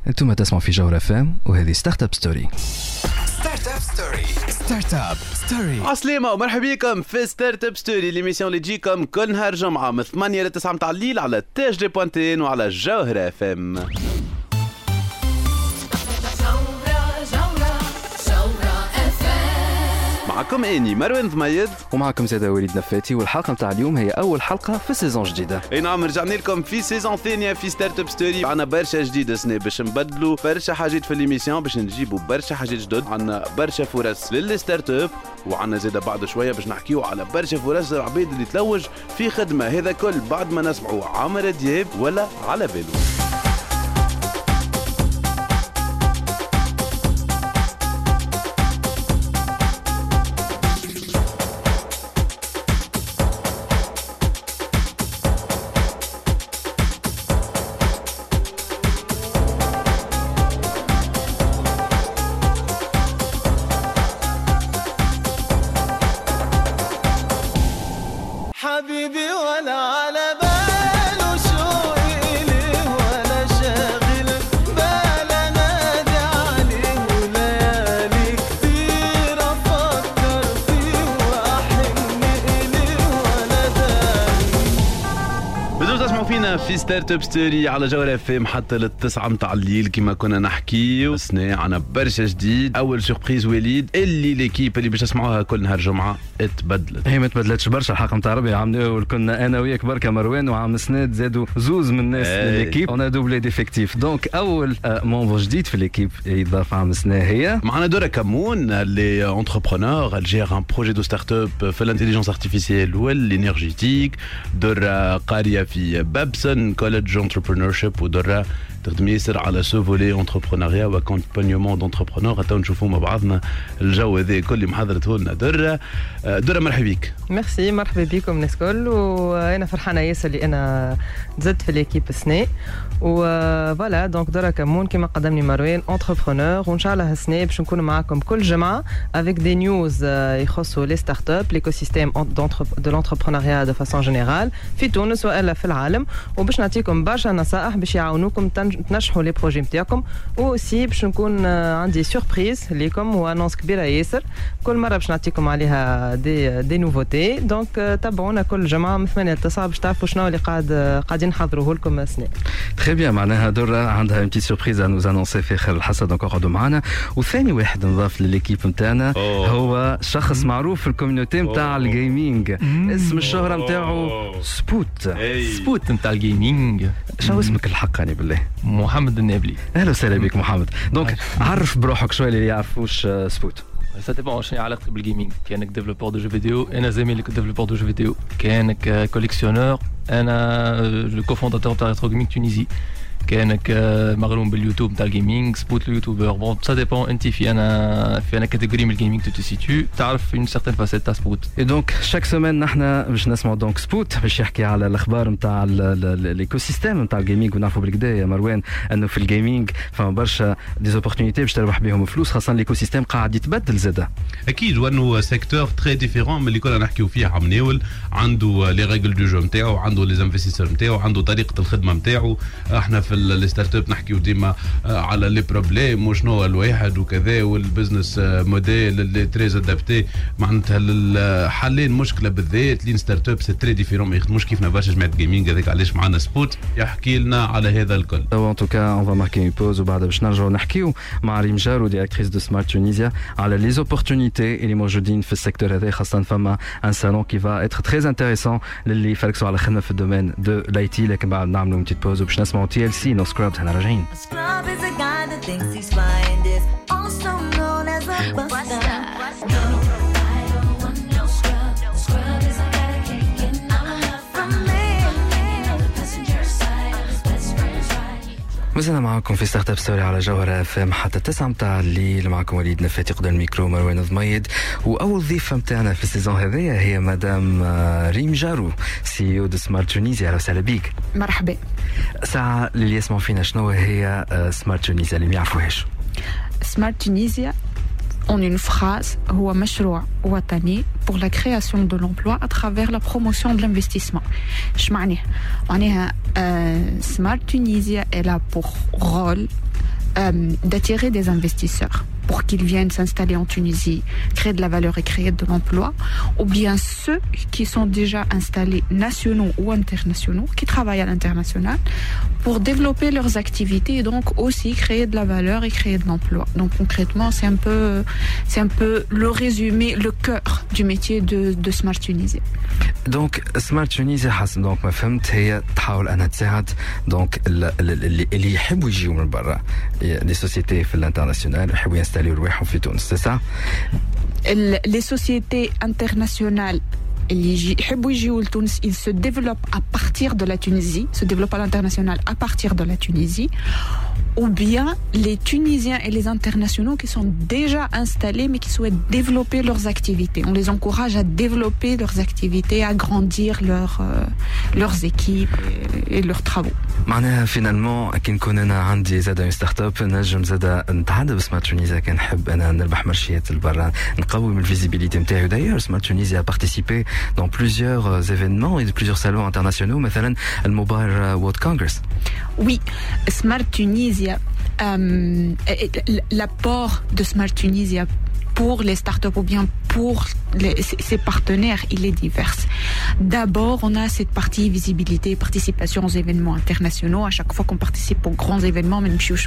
انتم تسمعوا في جوهر FM وهذه ستارت اب ستوري. ستارت اب ستوري. عسلامة ومرحبا بكم في ستارت اب ستوري، ليميسيون اللي تجيكم كل نهار جمعة من 8 ل 9 متاع الليل على تاج دي بوانتين وعلى جوهر FM. معكم اني مروان ضميد ومعكم زاده وليد نفاتي، والحلقه نتاع اليوم هي اول حلقه في سيزون جديده. اي نعم، رجعنا لكم في سيزون ثانيه في ستارت اب ستوري. عندنا برشا جديد السنه باش نبدلوا برشا حاجات في ليميسيون، باش نجيبوا برشا حاجات جدد. عندنا برشا فرص للستارت اب، وعندنا زاده بعد شويه باش نحكيو على برشا فرص العباد اللي تلوج في خدمه. هذا كل بعد ما نسمعوا عمرو دياب ولا على بالو. حبيبي ولا على باله شو إليه ولا شاغل بالا نادي عليه وليالي كتير أفكر فيه وأحن إليه ولا داري. بدو تسمعوا فينا في ستارت اب ستوري على جوهر FM حتى للتسعة متاع الليل كما كنا نحكي. سنة عنا برشا جديد. أول سوربريز وليد، اللي ليكيب اللي باش تسمعوها كل نهار جمعة اتبدلت. هي ما تبدلتش برشا. الحلقه نتاع ربي عملوا كنا انا وياك بركه مروان وعم سناد زادوا زوز من الناس ليكيب. اون دوبلي ديفيكتيف. دونك اول مونفو جديد في ليكيب يضاف عم سناد هي معنا دورة كمون اللي انتربرونور. elle gère un projet de start-up في الانتليجنس ارتيفيسيال والانرجيتيك. دورة قارية في بابسون كوليدج انتربرونورشيب، ودورة تخدم ياسر على سو فولي انتربرونيا واكومبانيومون دونتربرونور. حتى نشوفوا مع بعضنا الجو هذا كل محضرته لنا. دورة مرحبا بك. ميرسي، مرحبا بكم الناس الكل، وانا فرحانه ياسر اللي انا زدت في ليكيب السنه. وفوالا دونك دورة كمون كما قدمني مروان انتربرونور، وان شاء الله السنه باش نكون معاكم كل جمعه افيك دي نيوز يخصوا لي ستارت اب ليكو سيستيم دو لونتربرونيا دو فاسون جينيرال في تونس والا في العالم، وباش نعطيكم برشا نصائح باش يعاونوكم تنجحوا لي بروجي نتاعكم. وسي باش نكون عندي سوربريز ليكم وانونس كبيره ياسر كل مره باش نعطيكم عليها دي نوفوتي. دونك تابعونا كل جمعه من 8 ل 9 باش تعرفوا شنو اللي قاعدين نحضروه لكم السنه. تري بيان. معناها دورة عندها اون بتيت سوربريز انوز انونسي في خير الحصه. دونك اقعدوا معنا. وثاني واحد نضاف لليكيب نتاعنا هو شخص معروف في الكوميونيتي نتاع الجيمنج. اسم الشهره نتاعو سبوت. سبوت نتاع الجيمنج. شنو اسمك الحقاني بالله؟ محمد النابلي. اهلا وسهلا بك محمد. دونك عرف بروحك شويه اللي يعرفوش سبوت. Ça dépend شنو علاقتك بالجيمنج. كانك ديفلوبور دو جو فيديو، انا زميلك ديفلوبور دو جو فيديو. كانك كوليكسيونور، انا لو كوفونداتور تاع ريترو جيمنج تونيزي. كانك مغروم باليوتيوب نتاع الجيمنج، سبوت اليوتيوبر. بون سا ديبون انت في انا كاتيجوري من الجيمنج تو سيتو تعرف اون سيرتين فاسيت تاع سبوت. اي دونك شاك سيمين نحن باش نسمعوا دونك سبوت باش يحكي على الاخبار نتاع الايكو سيستيم نتاع الجيمنج. ونعرفوا بالكدا يا مروان انه في الجيمنج فما برشا ديزوبورتونيتي باش تربح بهم فلوس، خاصه الايكو سيستيم قاعد يتبدل زاده. اكيد، وانه سيكتور تري ديفيرون من اللي كنا نحكيو فيه عم ناول. عنده لي ريغل دو جو نتاعو، عنده لي انفستيسور نتاعو، عنده طريقه الخدمه نتاعو. احنا في الستارت اب نحكيو ديما على لي بروبليم وشنو الواحد وكذا، والبزنس موديل اللي تري ادابتي معناتها للحلين مشكله بالذات. لين ستارت اب سي تري ديفيرون، ما يخدموش كيفنا برشا جماعه جيمنج. هذاك علاش معنا سبوت يحكي لنا على هذا الكل. ان توكا اون فا ماركي اون بوز وبعد باش نرجعوا نحكيو مع ريم جارو ديريكتريس دو سمارت تونيزيا على لي زوبورتونيتي اللي موجودين في السيكتور هذا. خاصه فما ان سالون كي فا اتر تري انتريسون للي يفركسوا على خدمه في الدومين دو لاي تي. لكن بعد نعملوا بتيت بوز وباش نسمعوا تي ال سي نو سكرابز. احنا راجعين. Scrub is a guy that thinks he's flying, is also known as a buster. No, I don't want no scrub. Scrub is a guy that can't get enough from me. On the passenger side of his best friend's ride. مازلنا معكم في ستارت اب ستوري على جوهر FM حتى 9 متاع الليل. معكم وليد نفاتي قدام الميكرو مروان ضميد. واول ضيفه متاعنا في السيزون هذايا هي مدام ريم جارو سي او دو سمارت تونيزيا. اهلا وسهلا بيك. مرحبا. ساعه اللي يسمعوا فينا شنو هي سمارت تونيزيا اللي ما يعرفوهاش؟ سمارت تونيزيا en une phrase هو مشروع وطني pour la création de l'emploi à travers la promotion de l'investissement. اش معناها؟ معناها Smart Tunisia est là pour rôle d'attirer des investisseurs pour qu'ils viennent s'installer en Tunisie, créer de la valeur et créer de l'emploi, ou bien ceux qui sont déjà installés nationaux ou internationaux, qui travaillent à l'international, pour développer leurs activités et donc aussi créer de la valeur et créer de l'emploi. Donc concrètement, c'est un peu le résumé, le cœur du métier de Smart Tunisie. Donc Smart Tunisie حسب دونك ما فهمت هي تحاول انها تساعد دونك اللي يحبوا يجيوا من برا لي سوسيتي في الانترناسيونال يحبوا ينستاليو رواحهم في تونس سي سا Les sociétés internationales ils se développent à partir de la Tunisie, se développent à l'international à partir de la Tunisie, ou bien les Tunisiens et les internationaux qui sont déjà installés mais qui souhaitent développer leurs activités. On les encourage à développer leurs activités, à grandir leurs équipes et leurs travaux. معناها فينالمون كي نكون انا عندي زاد ستارت اب نجم زاد نتعدى بسمارت تونيزيا كان نحب انا نربح مرشيات لبرا نقوي من الفيزيبيليتي نتاعي. دايور سمارت تونيزيا بارتيسيبي dans plusieurs événements et plusieurs salons internationaux مثلا الموبايل وورد كونغرس. Oui, Smart Tunisia, l'apport de Smart Tunisia pour les startups ou bien pour ses partenaires, il est divers. D'abord, on a cette partie visibilité, participation aux événements internationaux. À chaque fois qu'on participe aux grands événements,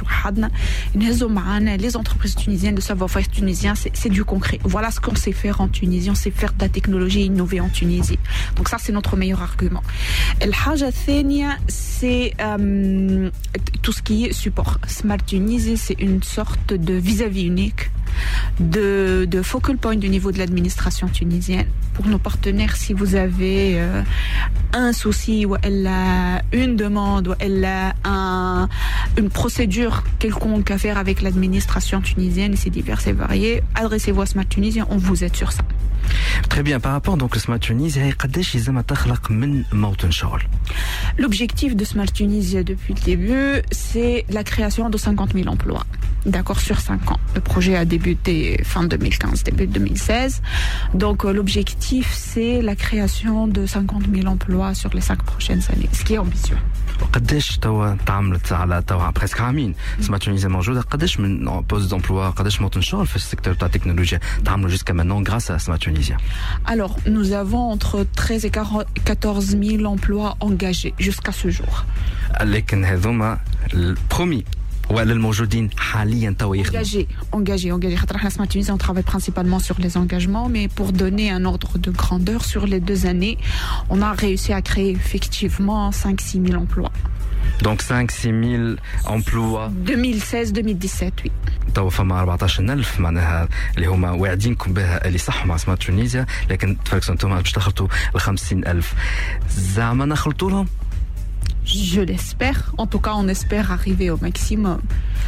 les entreprises tunisiennes, le savoir-faire tunisien, c'est du concret. Voilà ce qu'on sait faire en Tunisie. On sait faire de la technologie innovée en Tunisie. Donc ça, c'est notre meilleur argument. الحاجة الثانية, c'est tout ce qui est support. Smart Tunisie, c'est une sorte de vis-à-vis unique, de focal point du niveau de l'administration tunisienne. Pour nos partenaires, si vous avez un souci ou une demande ou une procédure quelconque à faire avec l'administration tunisienne, c'est divers et varié, adressez-vous à Smart Tunisie, on vous aide sur ça. Très bien. Par rapport donc à Smart Tunisie, قداش يلزم تخلق من موطن شغل؟ L'objectif de Smart Tunisie depuis le début, c'est la création de 50 000 emplois. D'accord, sur 5 ans. Le projet a débuté fin 2015, début 2016. Donc l'objectif, c'est la création de 50 000 emplois sur les 5 prochaines années, ce qui est ambitieux. قداش توا تعملت على توا بريسك عامين سمارت تونيزيا موجوده قداش من بوست دامبلوا قداش موطن شغل في السيكتور تاع التكنولوجيا تعملوا جوسكا مانون غراس à سمارت تونيزيا. Alors nous avons entre 13 et 14 000 emplois engagés jusqu'à ce jour. لكن هذوما البرومي ولا الموجودين حاليا توا يخدموا engagés. خاطر احنا سمارت تونيزيا on travaille principalement sur les engagements, mais pour donner un ordre de grandeur sur les 2 années, on a réussi à créer effectivement 5-6 000 emplois. Donc 5-6 000 emplois 2016-2017 oui. توا فما 14,000 معناها اللي هما واعدينكم بها اللي صحوا مع سمارت تونيزيا، لكن تفرقوا انتم باش تخلطوا ال 50,000 زعما نخلطوا لهم. Je l'espère. En tout cas, on espère arriver au maximum.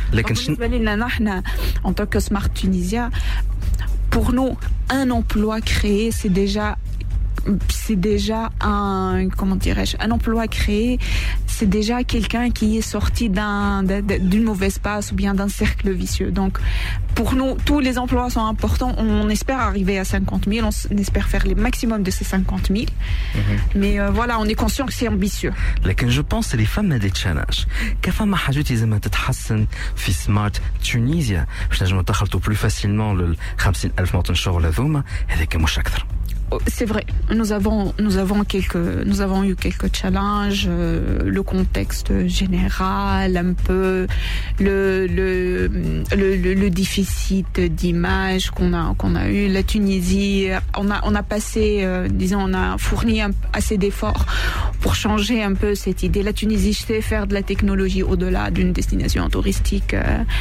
En tant que Smart Tunisia, pour nous, un emploi créé, c'est déjà un emploi créé, c'est déjà quelqu'un qui est sorti d'une mauvaise passe ou bien d'un cercle vicieux. Donc, pour nous, tous les emplois sont importants. On espère arriver à 50 000, on espère faire le maximum de ces 50 000. Mais voilà, on est conscient que c'est ambitieux. لكن je pense les femmes des challenges. كفما حاجات لازم تتحسن في سمارت تونيزيا باش نجموا نخلطوا plus facilement ل 50,000 موطن شغل هذوما هذاك مش أكثر. C'est vrai, nous avons eu quelques challenges, le contexte général, un peu le déficit d'image qu'on a eu. La Tunisie, on a passé, on a fourni assez d'efforts pour changer un peu cette idée. La Tunisie sait faire de la technologie au-delà d'une destination touristique,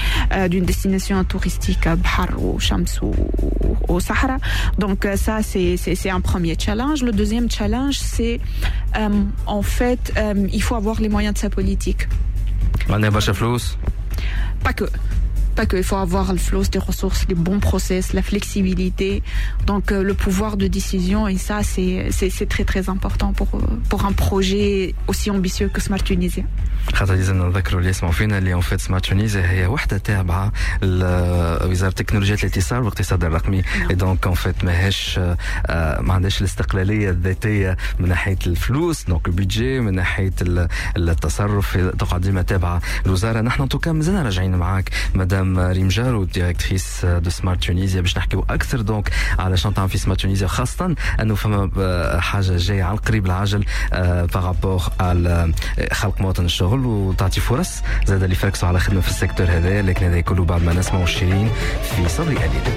à Bahar ou Shams ou au Sahara. Donc ça, c'est un premier challenge. Le deuxième challenge, c'est en fait, il faut avoir les moyens de sa politique. Pas que. pas qu'il faut avoir le flow des ressources, les bons process, la flexibilité, donc le pouvoir de décision, et ça c'est très très important pour un projet aussi ambitieux que Smart Tunisia. خاطر لازم نذكروا اللي يسمعوا فينا اللي في سمارت تونيزيا هي وحده تابعه لوزاره تكنولوجيا الاتصال والاقتصاد الرقمي، دونك ان فيت ماهيش ما عندهاش الاستقلاليه الذاتيه من ناحيه الفلوس، دونك البيدجي، من ناحيه التصرف تقعد ديما تابعه الوزاره. نحن توكا مازلنا راجعين معاك مدام ريم جارو ديريكتريس دو سمارت تونيزيا باش نحكيو اكثر دونك على شنو تعمل في سمارت تونيزيا، خاصه انه فما حاجه جايه على القريب العاجل بارابور على خلق مواطن الشغل وتعطي فرص زاد اللي فركسوا على خدمه في السيكتور هذا، لكن هذا كله بعد ما نسمعوا شيرين في صبري قليل.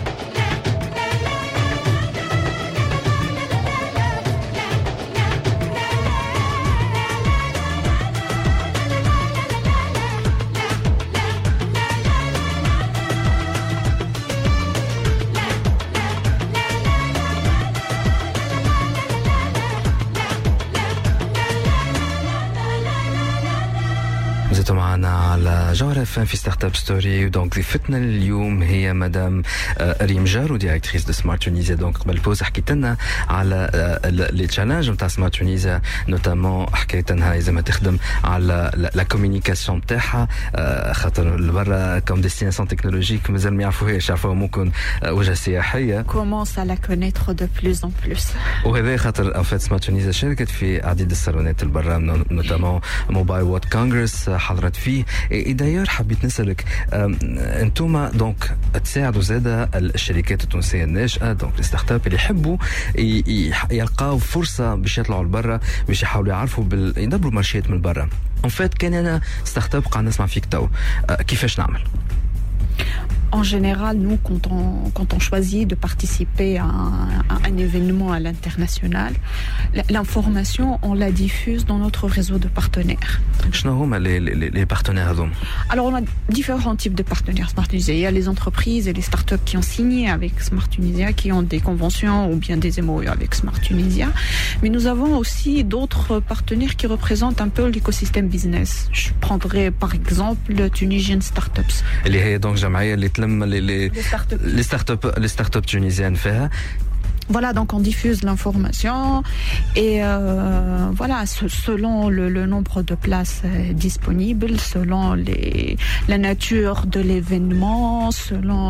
معنا على جوهر اف ام في ستارت اب ستوري. دونك ضيفتنا اليوم هي مدام ريم جارو ديريكتريس دو سمارت تونيزيا. دونك قبل البوز حكيت لنا على لي تشالنج نتاع سمارت تونيزيا، نوتامون حكيت انها لازم تخدم على لا كوميونيكاسيون نتاعها، خاطر برا كوم ديستيناسيون تكنولوجيك مازال ما يعرفوهاش، يعرفوها ممكن وجهه سياحيه. كومونس على كونيتر دو بلوس ان بلوس، وهذا خاطر ان فيت سمارت تونيزيا شاركت في عديد الصالونات البرا، نوتامون موبايل وورد كونغرس حضرت فيه. دايور حبيت نسألك انتوما دونك تساعدوا زاده الشركات التونسيه الناشئه، دونك الستارت اب اللي يحبوا يلقاو فرصه باش يطلعوا لبرا، باش يحاولوا يعرفوا يدبروا مارشيات من برا. ان فيت كان انا ستارت اب قاعد نسمع فيك تو، كيفاش نعمل؟ En général, nous, quand on choisit de participer à un événement à l'international, l'information, on la diffuse dans notre réseau de partenaires. Les partenaires donc. Alors, on a différents types de partenaires Smart Tunisia. Il y a les entreprises et les startups qui ont signé avec Smart Tunisia, qui ont des conventions ou bien des MOU avec Smart Tunisia. Mais nous avons aussi d'autres partenaires qui représentent un peu l'écosystème business. Je prendrai par exemple le Tunisian Startups. اللي هي donc جمعية اللي تلم les startups tunisiennes فيها. Voilà, donc on diffuse l'information et voilà, selon le nombre de places disponibles, selon la nature de l'événement, selon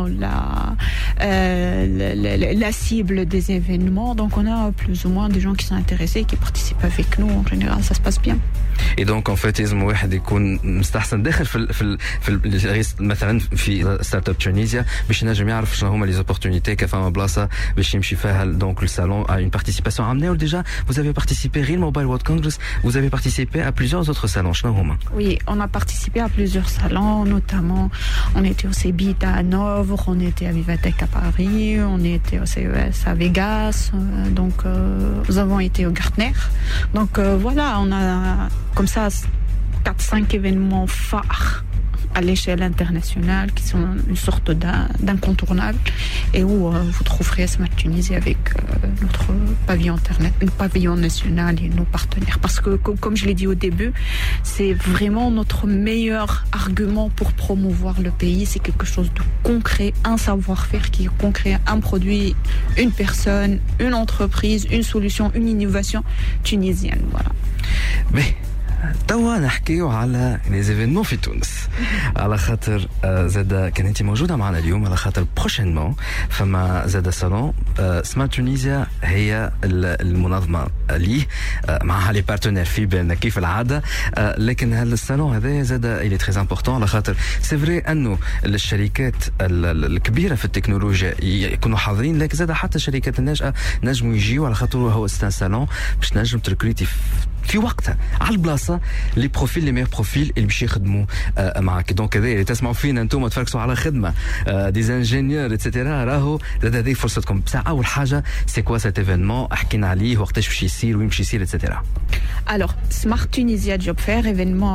la cible des événements. Donc on a plus ou moins des gens qui sont intéressés, qui participent avec nous. En général, ça se passe bien. Et donc en fait لازم واحد يكون مستحسن داخل في مثلا في ستارت اب تونيزيا باش ينجم يعرف شنو هما لي زوبورتونيتي، كيف ما بلاصه باش يمشي فيها. Donc le salon a une participation. Déjà, vous avez participé Real Mobile World Congress, vous avez participé à plusieurs autres salons. Oui, on a participé à plusieurs salons, notamment on était au CEBIT à Hanovre, on était à Vivatech à Paris, on était au CES à Vegas, donc nous avons été au Gartner. Donc voilà, on a comme ça 4-5 événements phares à l'échelle internationale qui sont une sorte d'incontournable et où vous trouverez Smart Tunisie avec notre pavillon national et nos partenaires, parce que comme je l'ai dit au début, c'est vraiment notre meilleur argument pour promouvoir le pays. C'est quelque chose de concret, un savoir-faire qui est concret, un produit, une personne, une entreprise, une solution, une innovation tunisienne. Voilà. Mais توا نحكيو على لي زيفينمون في تونس، على خاطر زاد كان انت موجوده معنا اليوم، على خاطر بروشينمون فما زاد صالون سمارت تونيزيا هي المنظمه ليه، معها لي بارتنير في بالنا كيف العاده. لكن هذا الصالون هذا زاد الي تري امبورطون، على خاطر سي فري انه الشركات الكبيره في التكنولوجيا يكونوا حاضرين، لكن زاد حتى الشركات الناشئه نجموا يجيوا، على خاطر هو ستان صالون باش نجم تركريتي في وقتها على البلاصه لي بروفيل لي مير بروفيل اللي باش يخدموا معك. دونك هذا اللي تسمعوا فينا انتم تفركسوا على خدمه دي انجينيور اتسيتيرا، راهو زاد هذه فرصتكم. بصح اول حاجه سي كوا سيت ايفينمون، حكينا عليه وقتاش باش يصير وين باش يصير اتسيتيرا. Alors, Smart Tunisia Job Fair, événement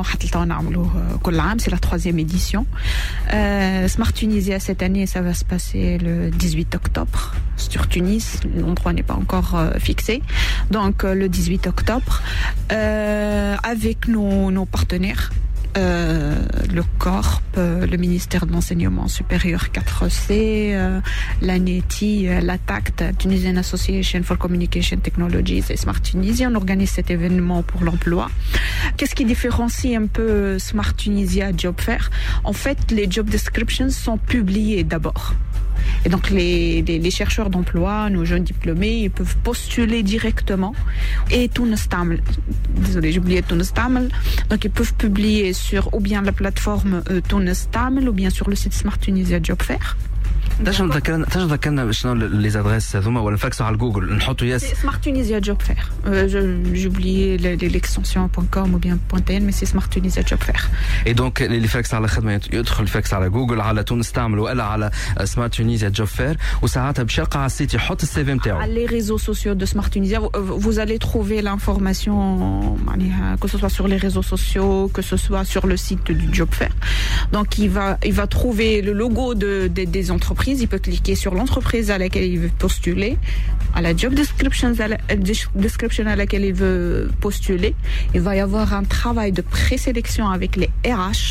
c'est la 3e édition. Smart Tunisia cette année, ça va se passer le 18 octobre sur Tunis. L'endroit n'est pas encore fixé. Donc, le 18 octobre, avec nos partenaires le CORP, le ministère de l'enseignement supérieur 4C, l'ANETI, la TACT, Tunisian Association for Communication Technologies et Smart Tunisia. On organise cet événement pour l'emploi. Qu'est-ce qui différencie un peu Smart Tunisia Job Fair? En fait, les job descriptions sont publiées d'abord. Et donc les chercheurs d'emploi, nos jeunes diplômés, ils peuvent postuler directement. Et Tounestaml, désolé, j'ai oublié Tounestaml. Donc ils peuvent publier sur ou bien la plateforme Tounestaml ou bien sur le site Smart Tunisia Job Fair. تنجم تذكرنا شنو لي زادريس هذوما ولا نفكسوا على جوجل نحطوا ياس Smart Tunisia Job Fair. J'ai oublié l'extension .com ou bien .tn, mais c'est Smart Tunisia Job Fair. Et donc اللي فاكس على خدمه يدخل فاكس على جوجل على تونس تعمل ولا على سمارت تونيزيا جوب فير وساعتها باش يلقى على السيت يحط السي في نتاعو. Les réseaux sociaux de Smart Tunisia, vous allez trouver l'information que ce soit sur les réseaux sociaux, que ce soit sur le site du Job Fair. Donc il va trouver le logo des entreprises. Il peut cliquer sur l'entreprise à laquelle il veut postuler, à la job description à laquelle il veut postuler. Il va y avoir un travail de présélection avec les RH.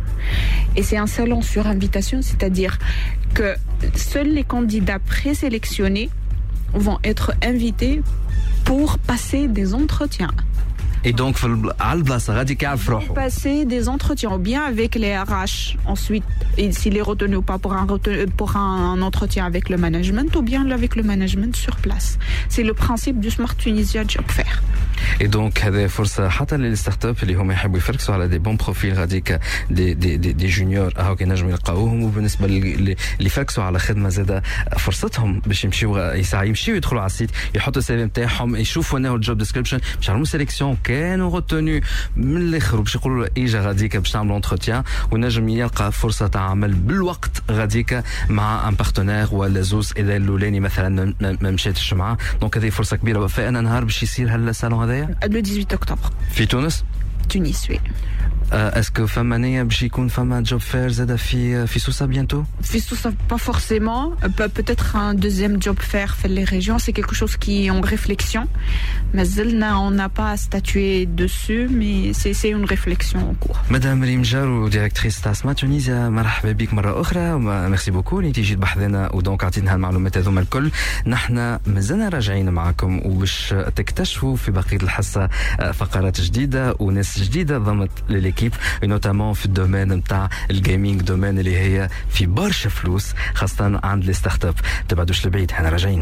Et c'est un salon sur invitation, c'est-à-dire que seuls les candidats présélectionnés vont être invités pour passer des entretiens. Et donc على البلاصه غادي كيعرف روحو. Passer des entretiens ou bien avec les RH ensuite, et s'il est retenu ou pas pour un entretien avec le management ou bien avec le management sur place. C'est le principe du Smart Tunisia Job Fair. Et donc هذه فرصه حتى للستارت اب اللي هما يحبوا يفركسوا على دي بون بروفيل غاديك دي جونيور هاو كينجموا يلقاوهم. وبالنسبه اللي يفركسوا على خدمه زاده فرصتهم باش يمشيو يدخلوا على السيت يحطوا السي في نتاعهم يشوفوا انه الجوب ديسكريبشن باش يعملوا سيليكسيون كانوا retenu من الاخر باش يقولوا له اجا غاديك باش تعملوا انتروتيان ونجم يلقى فرصه تاع عمل بالوقت غاديك مع ان بارتنير ولا زوز اذا الاولاني مثلا ما مشاتش معاه. دونك هذه فرصه كبيره. فانا نهار باش يصير هالسالون هذايا Le 18 octobre. في تونس. Tunis, oui. Est-ce que فما نية باش يكون فما جوب فير زاده في سوسه بيانتو؟ في سوسه pas forcément. Peut-être un deuxième job fair fait les régions. C'est quelque chose qui est en réflexion. Mais on n'a pas statué dessus, mais c'est une réflexion en cours. Madame Rym Jarou, directrice de Smart Tunisia, مرحبا بك مرة أخرى. ميرسي بوكو اللي تيجي بحذنا ودونك عطيتنا المعلومات هذوما الكل. نحن مازلنا راجعين معكم وباش تكتشفوا في بقية الحصة فقرات جديدة وناس جديدة ضمت لليكيب نوتامون في الدومين نتاع الجيمنج دومين اللي هي في برشا فلوس خاصة عند لي ستارت اب. تبعدوش لبعيد حنا راجعين.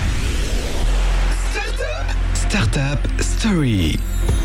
ستارت اب ستوري.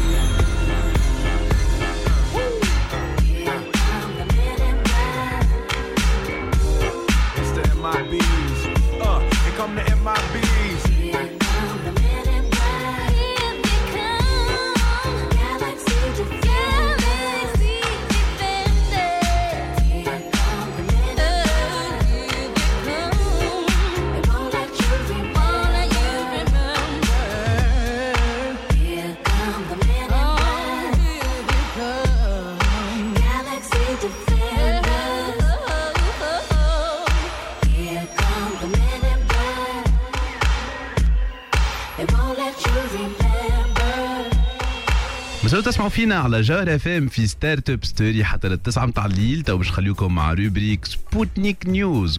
مساء تسمعوا فينا على جوهر اف ام في ستارت اب ستوري حتى للتسعة متاع الليل. تو باش نخليكم مع روبريك سبوتنيك نيوز.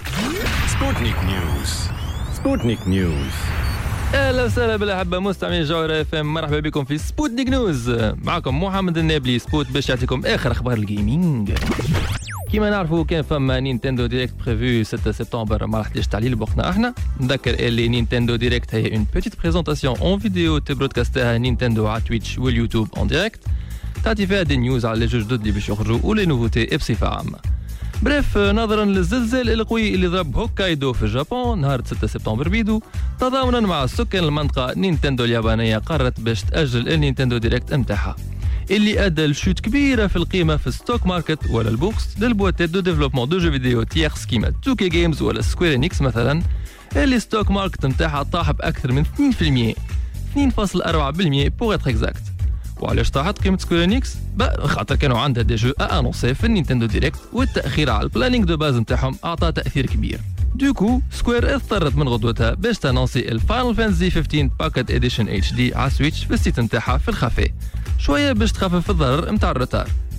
سبوتنيك نيوز. اهلا وسهلا بالاحبه مستمعين جوهر اف ام. مرحبا بكم في سبوتنيك نيوز. معكم محمد النابلي سبوت باش يعطيكم اخر اخبار الجيمنج. كيما نعرفوا كان فما نينتندو ديريكت بريفو 6 سبتمبر ما راحتش تعليل بوقتنا احنا. نذكر اللي نينتندو ديريكت هي اون بيتيت بريزونطاسيون اون فيديو تبرودكاستها نينتندو على تويتش واليوتيوب اون ديريكت تعطي فيها دي نيوز على لي جوج جدد اللي باش يخرجوا ولي نوفوتي بصفه عامه. بريف نظرا للزلزال القوي اللي ضرب هوكايدو في اليابان نهار 6 سبتمبر بيدو تضامنا مع سكان المنطقه نينتندو اليابانيه قررت باش تاجل النينتندو ديريكت نتاعها اللي ادى لشوت كبيره في القيمه في الستوك ماركت ولا البورصه للبواتات دو ديفلوبمون دو جو فيديو تيرس كيما توكي جيمز ولا سكوير انيكس مثلا اللي ستوك ماركت نتاعها طاح باكثر من 2.4% بور اتر اكزاكت. وعلاش طاحت قيمه سكوير انيكس؟ خاطر كانوا عندها دي جو انونسي في النينتندو ديريكت والتاخير على البلانينغ دو باز نتاعهم اعطى تاثير كبير. دوكو سكوير اضطرت من غدوتها باش تنونسي الفاينل فانتسي 15 باكيت اديشن اتش دي على سويتش في السيت نتاعها في الخفاء شويه باش تخفف الضرر نتاع الرتار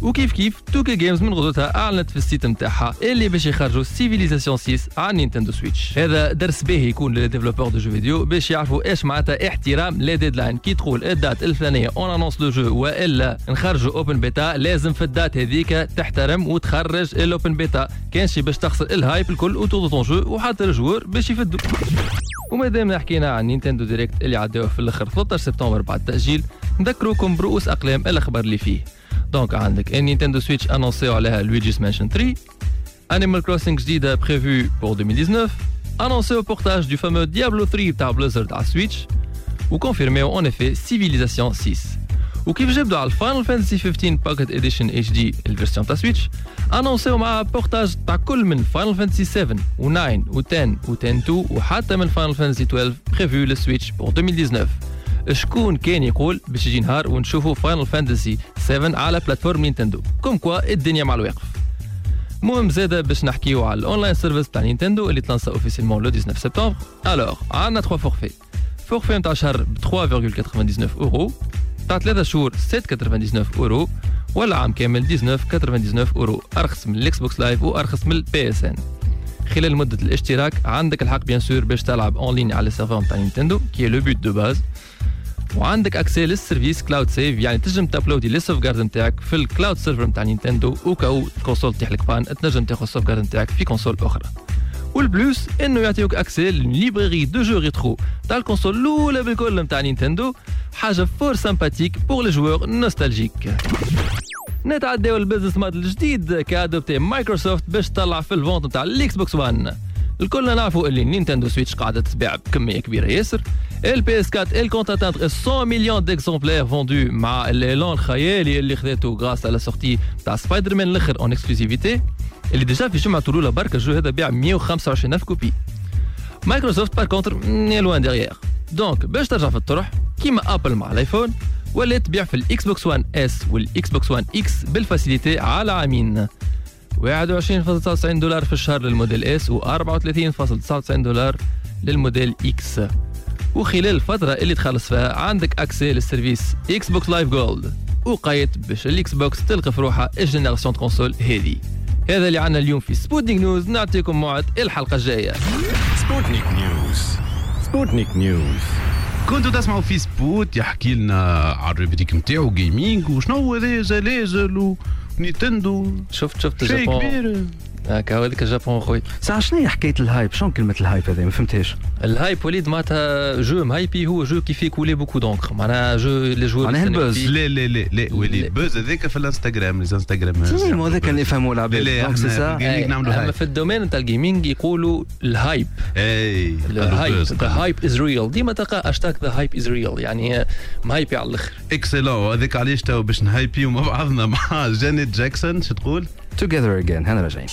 وكيف كيف توكي جيمز من غدوتها اعلنت في السيت نتاعها اللي باش يخرجوا سيفيليزاسيون 6 على نينتندو سويتش. هذا درس باهي يكون للديفلوبور دو جو فيديو باش يعرفوا ايش معناتها احترام لي ديدلاين. كي تقول الدات الفلانيه اون انونس لو جو والا نخرجوا اوبن بيتا، لازم في الدات هذيك تحترم وتخرج الاوبن بيتا، كانش باش تخسر الهايب الكل وتوضو طون جو وحتى الجوار باش يفدوا. ومادام حكينا عن نينتندو دايركت اللي عداوه في الاخر 13 سبتمبر بعد التاجيل، نذكروكم برؤوس اقلام الاخبار اللي فيه. دونك عندك النينتندو سويتش انونسيو عليها لويجي's Mansion 3، Animal Crossing جديده prévue pour 2019، annoncé au portage du fameux Diablo 3 بتاع بليزرد على سويتش، وكونفيرميو en effet Civilization 6. وكيف جبدوا على الفاينل فانتسي 15 باكيت اديشن اتش دي الفيرسيون تاع سويتش، انونسيو مع بورتاج تاع كل من فاينل فانتسي 7 و9 و10 و10 2 وحتى من فاينل فانتسي 12 بريفو للسويتش بور 2019. شكون كان يقول باش يجي نهار ونشوفوا فاينل فانتسي 7 على بلاتفورم نينتندو؟ كوم كوا الدنيا مع الواقف. المهم زاده باش نحكيو على الاونلاين سيرفيس تاع نينتندو اللي تلانسا اوفيسيلمون لو 19 سبتمبر. الوغ عندنا 3 فورفي. فورفي نتاع شهر ب 3.99 اورو، تاع 3 شهور 7.99 اورو، ولا عام كامل 19.99 اورو، ارخص من الاكس بوكس لايف وارخص من البي اس ان. خلال مده الاشتراك عندك الحق بيان سور باش تلعب اون لين على السيرفر نتاع نينتندو كي لو بوت دو باز، وعندك اكسي للسيرفيس كلاود سيف، يعني تنجم تابلودي لي سوف جارد نتاعك في الكلاود سيرفر نتاع نينتندو، وكاو الكونسول تحلك بان تنجم تاخذ السوف جارد نتاعك في كونسول اخرى. والبلوس انه يعطيوك اكسي للليبراري دو جو ريترو تاع الكونسول الاولى بالكل نتاع نينتندو، حاجه فور سامباتيك بور لي جوور نوستالجيك. نتعداو البيزنس موديل الجديد كادوبتي مايكروسوفت باش تطلع في الفونت نتاع الاكس بوكس 1. الكلنا نعرفوا اللي نينتندو سويتش قاعده تباع بكميه كبيره ياسر. البي اس 4 الكونت اتاندر 100 مليون ديكزومبلير فوندو مع الاعلان الخيالي اللي خذاته غراس على سورتي تاع سبايدر مان الاخر اون اكسكلوزيفيتي اللي ديجا في جمعه الاولى برك الجو هذا باع 125,000 كوبي. مايكروسوفت بار كونتر لوان ديريير. دونك باش ترجع في الطرح كيما ابل مع الايفون، ولا تبيع في الاكس بوكس 1 اس والاكس بوكس 1 اكس بالفاسيليتي على عامين، $21.99 في الشهر للموديل اس و $34.99 للموديل اكس. وخلال الفترة اللي تخلص فيها عندك اكسي للسيرفيس اكس بوكس لايف جولد، وقايت باش الاكس بوكس تلقى في روحها الجينيراسيون كونسول هذه. هذا اللي عنا اليوم في سبوتنيك نيوز، نعطيكم موعد الحلقة الجاية. سبوتنيك نيوز. سبوتنيك نيوز. كنتوا تسمعوا في سبوت يحكي لنا على الريبريك نتاعو جيمنج وشنو هذا زلازل ونينتندو. شفت شيء الجابون كبير. هكا هذيك الجابون خويا. ساعة شنو هي حكاية الهايب؟ شنو كلمة الهايب هذه؟ ما فهمتهاش. الهايب وليد معناتها جو مهايبي، هو جو كي في كولي بوكو دونكر، معناها جو لي جوار معناها البوز. لا ولي البوز هذاك في الانستغرام، لي انستغرام سي هذاك اللي يفهموا العباد. دونك سي سا. اما في الدومين نتاع الجيمنج يقولوا الهايب. اي الهايب ذا هايب از ريل، ديما تلقى اشتاك ذا هايب از ريل، يعني مهايبي على الاخر. اكسلون. هذاك علاش تو باش نهايبيو مع بعضنا مع جانيت جاكسون. شو تقول؟ Together again. هنا راجعين.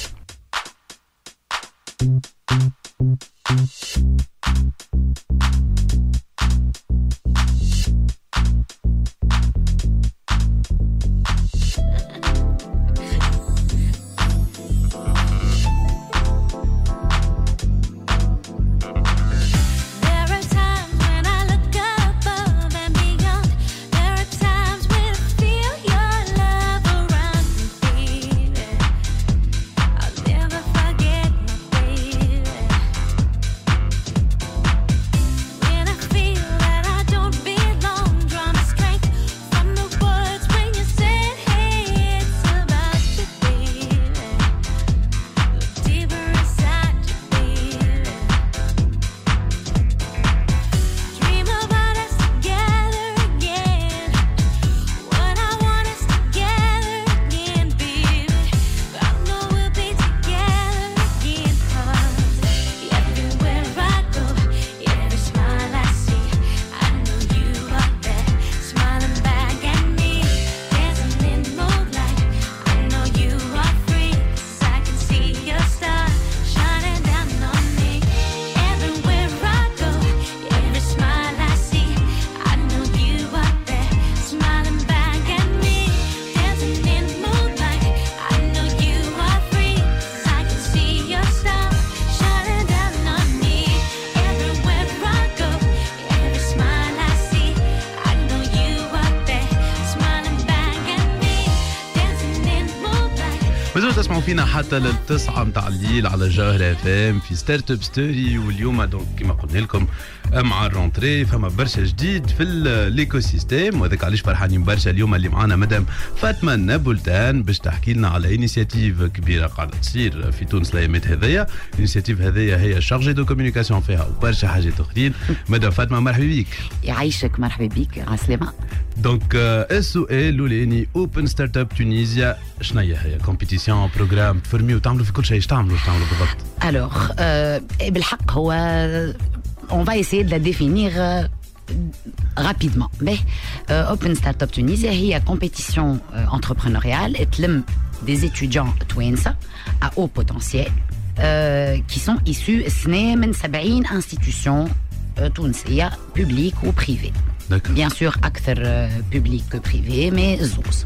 فينا حتى للتسعة متاع الليل على جوهر اف ام في ستارت اب ستوري. واليوم دونك كما قلنا لكم مع الرونتري فما برشا جديد في الايكو سيستيم، وهذاك علاش فرحانين برشا اليوم اللي معنا مدام فاطمه نابلتان باش تحكي لنا على انيسياتيف كبيره قاعده تصير في تونس الايامات هذيا. الانيسياتيف هذيا هي شارجي دو كوميونيكاسيون فيها وبرشا حاجات اخرين. مدام فاطمه مرحبا بك. يعيشك، مرحبا بك، عسلامة. دونك السؤال الاولاني اوبن ستارت اب تونيزيا شنو هي كومبيتيسيون بروجرام تفرميو تعملوا في كل شيء؟ ايش تعملوا بالضبط؟ Alors بالحق هو on va essayer de la définir rapidement. Mais Open Startup Tunisia هي compétition entrepreneuriale تلم des étudiants توانسة à haut potentiel qui sont issus من 70 institutions تونسية publiques ou privées. Bien sûr أكثر public que privé mais زوز.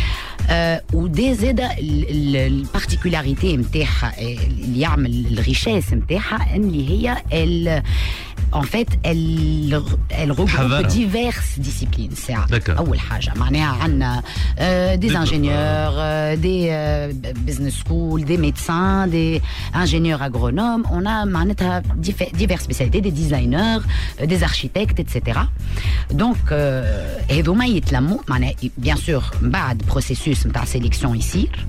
ودي زادة البارتيكولاريتي نتاعها اللي يعمل الريشيس نتاعها اللي هي en fait elle regroupe diverses disciplines. C'est أول حاجة معناها عنا des ingénieurs, des business schools, des médecins, des ingénieurs agronomes. On a معناتها diverses spécialités, des designers, des architectes, etc. Donc هذوما يتلموا معناها bien sûr بعد processus نتاع sélection يصير.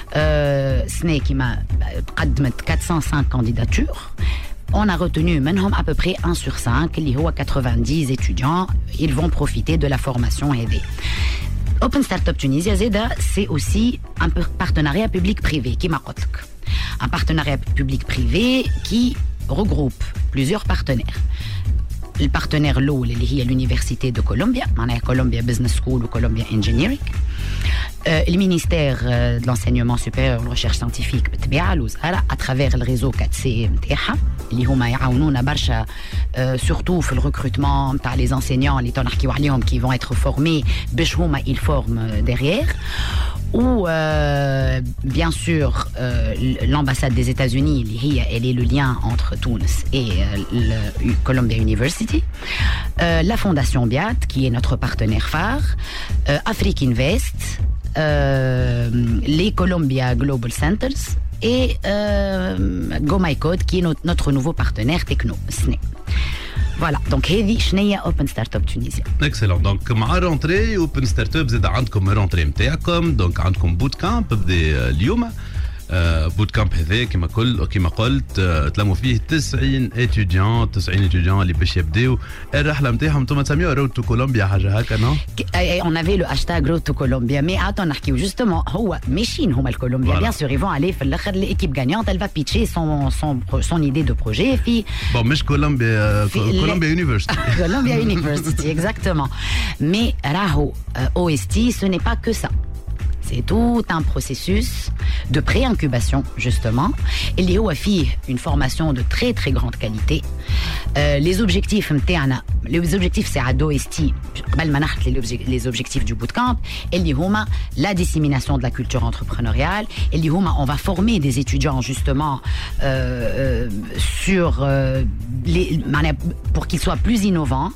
سنة كيما قدمت 405 candidatures. On a retenu منهم à peu près 1 sur 5 اللي هو 90 étudiants. Ils vont profiter de la formation aidée. Open Startup Tunisia زيدا c'est aussi un partenariat public-privé كيما قلت لك. Un partenariat public-privé qui regroupe plusieurs partenaires. Le partenaire الأول اللي هي l'université de Columbia معناها Columbia Business School و Columbia Engineering. Le ministère de l'enseignement supérieur et de la recherche scientifique بالطبيعة الوزارة à travers le réseau 4C نتاعها اللي هما يعاونونا برشا surtout في الريكروتمون نتاع les enseignants اللي تنحكيو عليهم qui vont être formés باش هما ils forment derrière. Ou bien sûr l'ambassade des États-Unis اللي هي elle est le lien entre Tunis et le Columbia University. La fondation BIAT qui est notre partenaire phare. Afrique Invest. Les Columbia Global Centers et Go My Code qui est notre nouveau partenaire techno SNE. Voilà, donc هذه شنية Open Startup Tunisia. Excellent. Donc مع رونتري Open Startup زاد عندكم رونتري نتاعكم، دونك عندكم بوت كامب بدا اليوم. بوت كامب هذا كما قلت تلموا فيه 90 étudiants اللي باش يبداو الرحله نتاعهم. انتم تسميوها رود تو كولومبيا حاجه هكا نو؟ On avait le hashtag Road to Colombia, mais attends نحكيو justement هو ماشيين هما الكولومبيا. Bien sûr ils vont aller في الاخر l'équipe gagnante elle va pitcher son idée de projet في مش كولومبيا University. Columbia University exactement. Mais راهو OST ce n'est pas que ça. C'est tout un processus de pré-incubation, justement. Il y a une formation de très très grande qualité. Les objectifs, c'est à d'OST, les objectifs du bootcamp. Il y a la dissémination de la culture entrepreneuriale. Il y a on va former des étudiants, justement, sur pour qu'ils soient plus innovants.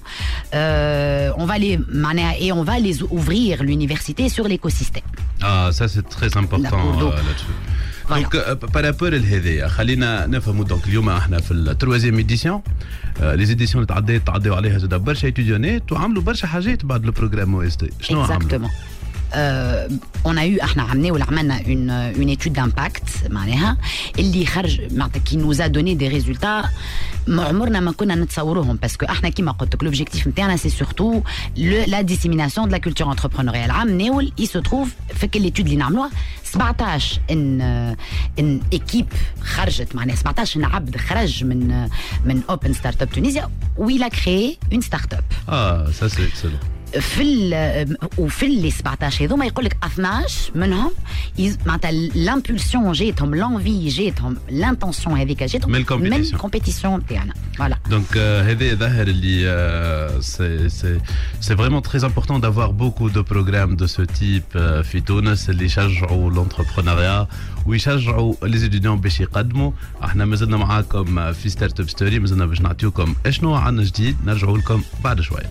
On va les ouvrir l'université sur l'écosystème. Ah, ça c'est très important là-dessus. Donc par rapport لهذا خلينا نفهموا دونك اليوم احنا في التروازيام ايديسيون. لي زيديسيون اللي تعداو عليها زاد برشا ايتيديونات وعملوا برشا حاجات بعد البروغرام او اس تي. شنو عملوا؟ on a eu احنا عملنا une étude d'impact معناها اللي خرج معناتها qui nous a donné des résultats ما عمرنا ما كنا نتصوروهم باسكو احنا كيما قلت لك l'objectif نتاعنا c'est surtout la dissémination de la culture entrepreneuriale. عام ناول il se trouve في كل l'étude اللي نعملوها 17 ان équipe خرجت معناها 17 عبد خرج من Open Startup Tunisia où il a créé une start-up. Ça c'est excellent. وفي اللي 17 هذوما يقول لك 12 منهم معناتها لامبولسيون جاتهم لانفي جاتهم لانتونسيون هذيك جاتهم من الكومبيتيسيون تاعنا. فوالا دونك هذا ظاهر اللي سي فريمون تري امبورطون دافوار بوكو دو بروغرام دو سو تيب في تونس اللي يشجعوا لونتربرونيا ويشجعوا لي ستوديون باش يقدموا. احنا مازلنا معاكم في ستارت اب ستوري، مازلنا باش نعطيوكم اشنو عندنا جديد. نرجعوا لكم بعد شويه.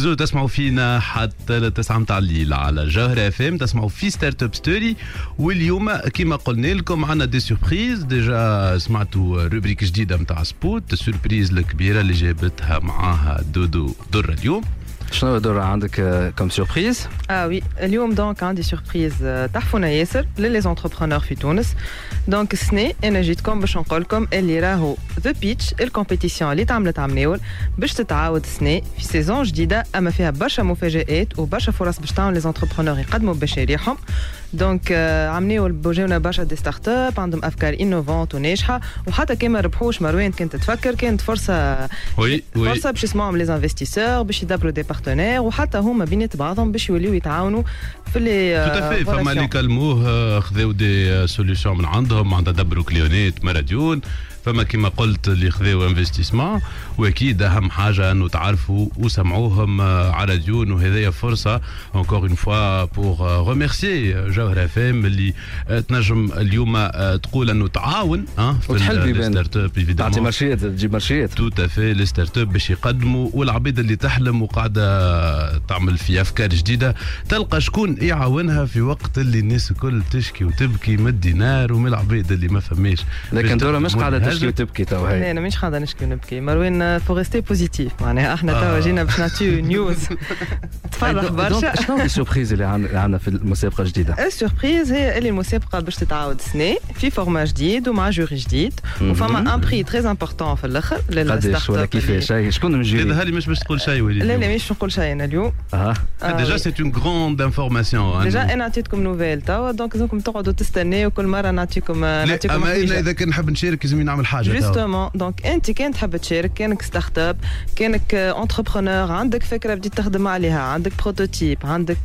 مازالوا تسمعوا فينا حتى 9 متاع الليل على جوهرة اف ام. تسمعوا في ستارت اب ستوري، واليوم كما قلنا لكم عندنا دي سوربريز. ديجا سمعتوا روبريك جديده متاع سبوت، السوربريز الكبيره اللي جابتها معاها دودو درة اليوم. شنو دور عندك كم سوربريز؟ وي اليوم دونك عندي سوربريز تحفونا ياسر للي زونتربرونور في تونس. دونك السنه انا جيتكم باش نقول لكم اللي راهو ذا بيتش الكومبيتيسيون اللي تعملت عمناول باش تتعاود السنه في سيزون جديده، اما فيها برشا مفاجآت وبرشا فرص باش تعاون لي زونتربرونور يقدموا مشاريعهم. دونك عمناول بوجاونا برشا دي ستارت اب عندهم افكار انوفونت وناجحه، وحتى كي ما ربحوش مروان كنت تفكر كانت فرصه فرصه باش يسمعهم لي انفستيسور باش يدبروا دي بارتنير، وحتى هما بينات بعضهم باش يوليو يتعاونوا في لي توتافي. فما اللي كلموه خذاو دي سوليوشن من عندهم، عندها دبروا كليونات مراديون. فما كما قلت اللي خذاو انفستيسمون، واكيد اهم حاجه انه تعرفوا وسمعوهم على راديون. وهذه فرصه encore une fois pour remercier جوهرة اف ام اللي تنجم اليوم تقول انه تعاون في الستارت اب، تعطي مارشيات تجيب مارشيات توتافي لي ستارت اب باش يقدموا، والعبيد اللي تحلم وقاعده تعمل في افكار جديده تلقى شكون يعاونها في وقت اللي الناس الكل تشكي وتبكي من الدينار ومن العبيد اللي ما فماش. لكن دورة مش قاعده تشكي وتبكي تو هاي. لا انا مش قاعده نشكي ونبكي مروان، فورستي بوزيتيف معناها احنا توا جينا باش نعطيو نيوز تفرح برشا. شنو السوربريز اللي عندنا في المسابقه الجديده؟ السوربريز هي اللي المسابقه باش تتعاود السنه في فورما جديد ومع جوري جديد، وفما ان بري تري امبورطون في الاخر قداش ولا كيفاش؟ شكون من الجوري؟ هذا مش باش تقول شيء وليد؟ لا مش نقول شيء انا اليوم. ديجا سي اون غروند انفورماسيون. ديجا انا عطيتكم نوفيل توا، دونك لازمكم تقعدوا تستناو كل مره نعطيكم اما اذا كان نحب نشارك لازم نعمل حاجه جوستومون. دونك انت كان تحب تشارك، كانك ستارت اب، كانك انتربرونور، عندك فكره بديت تخدم عليها، عندك بروتوتيب، عندك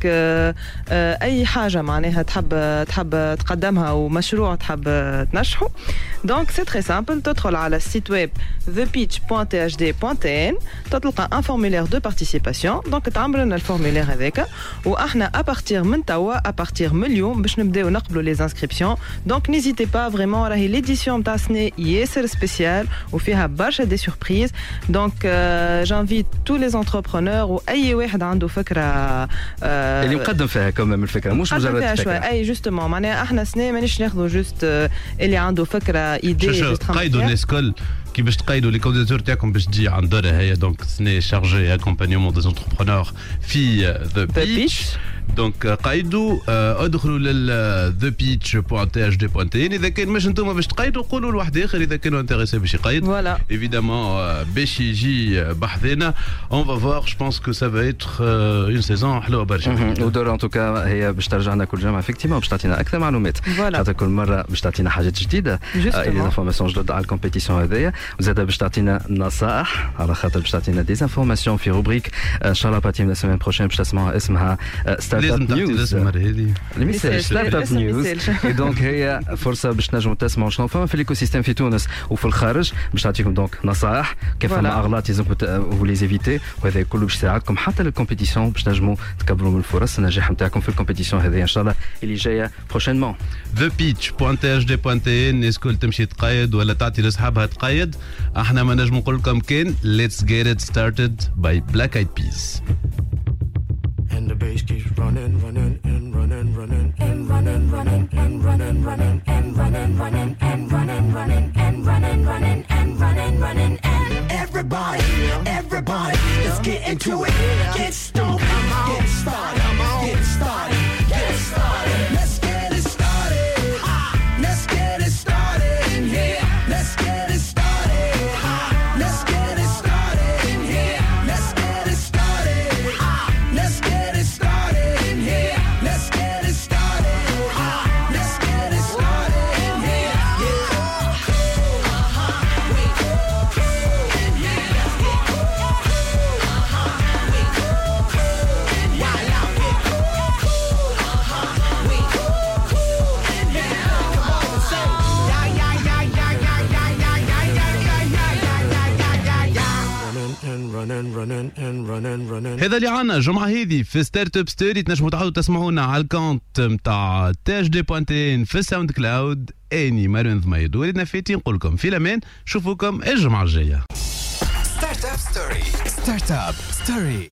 اي حاجه معناها تحب تقدمها ومشروع تحب تنجحه، دونك سي تري سامبل. تدخل على السيت ويب thepitch.thd.tn، تلقى ان فورمولير دو بارتيسيباسيون. دونك تعمل لنا الفورمولير هذاك، واحنا ابارتير من توا ابارتير من اليوم باش نبداو نقبلوا لي انسكريبسيون. دونك نيزيتي با فريمون، راهي ليديسيون تاع السنه ياسر سبيسيال وفيها برشا دي سوربريز. دونك جانفيت تو لي انتربرونور واي واحد عنده فكره اللي مقدم فيها كمان الفكره، مش مجرد فكره. اي جوستومون معناها احنا سنه مانيش ناخذوا جوست اللي عنده فكره ايدي. قيدوا الناس الكل كي باش تقيدوا لي كانديداتور تاعكم باش تجي عند دورة هي. دونك سني شارجي اكومبانيومون دي انتربرونور في ذا بيتش. دونك قيدوا ادخلوا لل thepitch.thd.tn. اذا كان مش انتم باش تقيدوا قولوا لواحد اخر اذا كانوا انتريسي باش يقيد. فوالا ايفيدامون باش يجي بحذنا. اون فا فوار جو بونس كو سا فا ايتر اون سيزون حلوه برشا. ودور ان توكا هي باش ترجع لنا كل جمعه افكتيمون باش تعطينا اكثر معلومات، خاطر كل مره باش تعطينا حاجات جديده، لي انفورماسيون جدد على الكومبيتيسيون هذيا، وزاد باش تعطينا نصائح على خاطر باش تعطينا دي انفورماسيون في روبريك ان شاء الله باتي من السيمين بروشين باش تسمعوها اسمها ستارت اب نيوز. الميساج ستارت اب نيوز. دونك هي فرصه باش تنجموا تسمعوا شنو فما في الايكو سيستيم في تونس وفي الخارج، باش تعطيكم دونك نصائح كيف فما اغلاط لازم فو زيفيتي، وهذا كله باش يساعدكم حتى للكومبيتيسيون باش تنجموا تكبروا من الفرص النجاح نتاعكم في الكومبيتيسيون هذه ان شاء الله اللي جايه بروشينمون. thepitch.thd.tn. الناس كل تمشي تقيد ولا تعطي لاصحابها تقيد. احنا ما نجم نقول لكم كان let's get it started by Black Eyed Peas. And the bass keeps running and running and running and running and running and running and everybody, let's get into it. Get stoked, get started, get started, get started. Let's get it started. Let's get it started in here. Let's get it started. Let's get it started in here. Let's get it started. Let's get it started in here. Let's get it started. Let's get it started in here. Yeah. هذا اللي عنا جمعة هذه في ستارت اب ستوري. تنجموا تعاودوا تسمعونا على الكونت نتاع thd.tn في الساوند كلاود. اني مروان ضميد وليدنا فاتي نقول لكم في الامان، نشوفوكم الجمعة الجاية. ستارت اب ستوري.